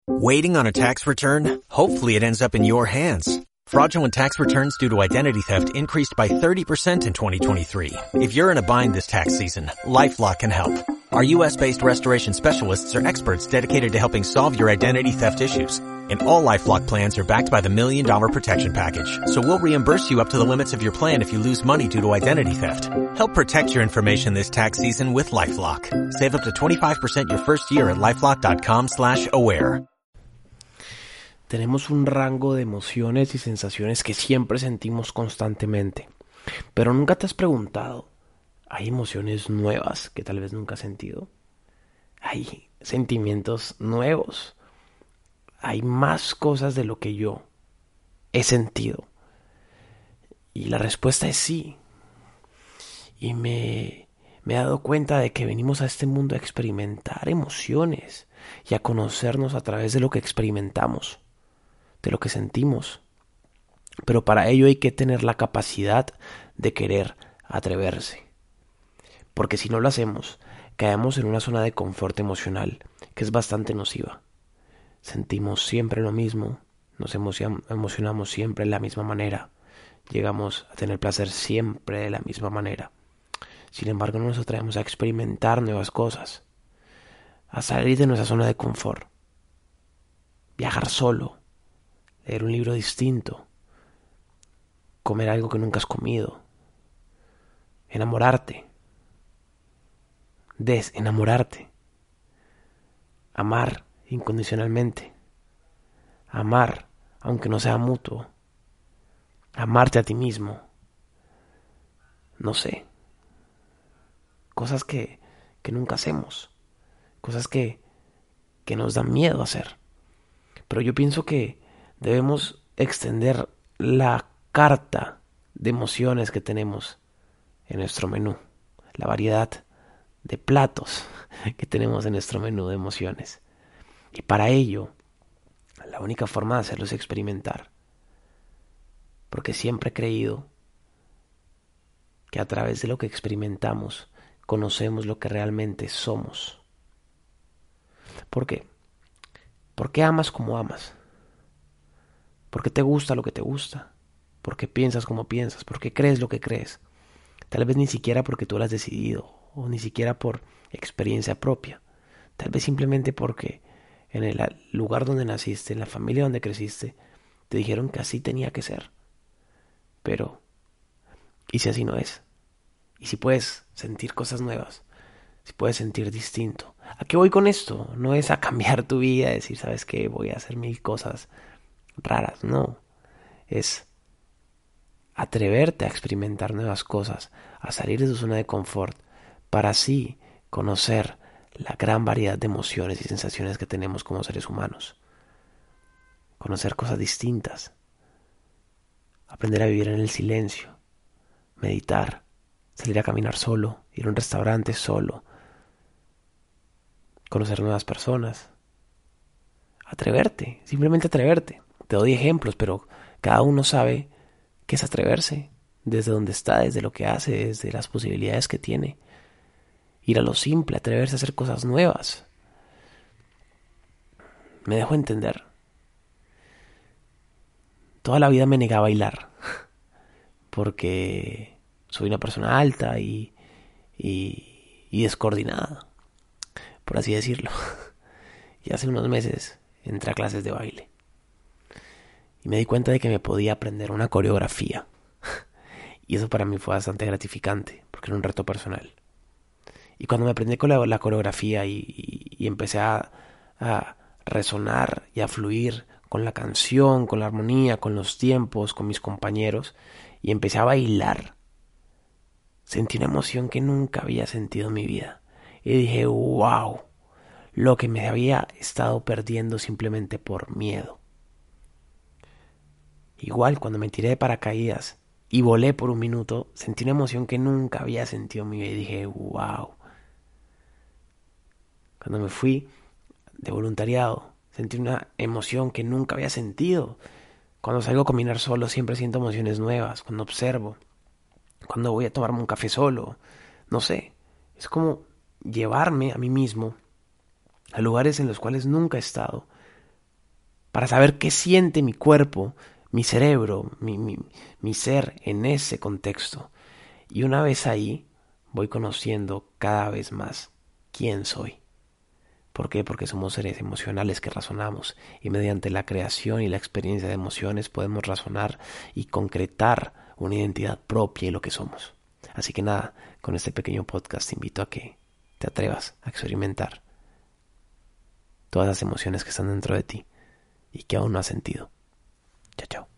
Waiting on a tax return? Hopefully it ends up in your hands. Fraudulent tax returns due to identity theft increased by 30% in 2023. If you're in a bind this tax season, LifeLock can help. Our U.S.-based restoration specialists are experts dedicated to helping solve your identity theft issues. And all LifeLock plans are backed by the $1 Million Protection Package. So we'll reimburse you up to the limits of your plan if you lose money due to identity theft. Help protect your information this tax season with LifeLock. Save up to 25% your first year at LifeLock.com/aware. Tenemos un rango de emociones y sensaciones que siempre sentimos constantemente. Pero nunca te has preguntado, ¿hay emociones nuevas que tal vez nunca has sentido? ¿Hay sentimientos nuevos? ¿Hay más cosas de lo que yo he sentido? Y la respuesta es sí. Y me he dado cuenta de que venimos a este mundo a experimentar emociones y a conocernos a través de lo que experimentamos, de lo que sentimos. Pero para ello hay que tener la capacidad de querer atreverse. Porque si no lo hacemos, caemos en una zona de confort emocional que es bastante nociva. Sentimos siempre lo mismo, nos emocionamos siempre de la misma manera, llegamos a tener placer siempre de la misma manera. Sin embargo, no nos atrevemos a experimentar nuevas cosas, a salir de nuestra zona de confort, viajar solo, leer un libro distinto, comer algo que nunca has comido, enamorarte, desenamorarte, amar incondicionalmente, amar aunque no sea mutuo, amarte a ti mismo, no sé, cosas que nunca hacemos, cosas que nos dan miedo hacer. Pero yo pienso que debemos extender la carta de emociones que tenemos en nuestro menú, la variedad de platos que tenemos en nuestro menú de emociones. Y para ello, la única forma de hacerlo es experimentar. Porque siempre he creído que a través de lo que experimentamos, conocemos lo que realmente somos. ¿Por qué? ¿Por qué amas como amas? ¿Por qué te gusta lo que te gusta? ¿Por qué piensas como piensas? ¿Por qué crees lo que crees? Tal vez ni siquiera porque tú lo has decidido, o ni siquiera por experiencia propia. Tal vez simplemente porque en el lugar donde naciste, en la familia donde creciste, te dijeron que así tenía que ser. Pero, ¿y si así no es? ¿Y si puedes sentir cosas nuevas? Si puedes sentir distinto. ¿A qué voy con esto? No es a cambiar tu vida, a decir, ¿sabes qué? Voy a hacer 1000 cosas raras. No. Es atreverte a experimentar nuevas cosas, a salir de tu zona de confort, para así conocer la gran variedad de emociones y sensaciones que tenemos como seres humanos. Conocer cosas distintas. Aprender a vivir en el silencio. Meditar. Salir a caminar solo. Ir a un restaurante solo. Conocer nuevas personas. Atreverte. Simplemente atreverte. Te doy ejemplos, pero cada uno sabe qué es atreverse. Desde donde está, desde lo que hace, desde las posibilidades que tiene. Ir a lo simple, atreverse a hacer cosas nuevas. Me dejo entender. Toda la vida me negué a bailar. Porque soy una persona alta y descoordinada, por así decirlo. Y hace unos meses entré a clases de baile. Y me di cuenta de que me podía aprender una coreografía. Y eso para mí fue bastante gratificante, porque era un reto personal. Y cuando me aprendí con la coreografía y empecé a resonar y a fluir con la canción, con la armonía, con los tiempos, con mis compañeros, y empecé a bailar, sentí una emoción que nunca había sentido en mi vida. Y dije, wow, lo que me había estado perdiendo simplemente por miedo. Igual cuando me tiré de paracaídas y volé por un minuto, sentí una emoción que nunca había sentido en mi vida y dije, wow. Cuando me fui de voluntariado, sentí una emoción que nunca había sentido. Cuando salgo a caminar solo siempre siento emociones nuevas. Cuando observo, cuando voy a tomarme un café solo, no sé. Es como llevarme a mí mismo a lugares en los cuales nunca he estado para saber qué siente mi cuerpo, mi cerebro, mi ser en ese contexto. Y una vez ahí, voy conociendo cada vez más quién soy. ¿Por qué? Porque somos seres emocionales que razonamos y mediante la creación y la experiencia de emociones podemos razonar y concretar una identidad propia y lo que somos. Así que nada, con este pequeño podcast te invito a que te atrevas a experimentar todas las emociones que están dentro de ti y que aún no has sentido. Chao, chao.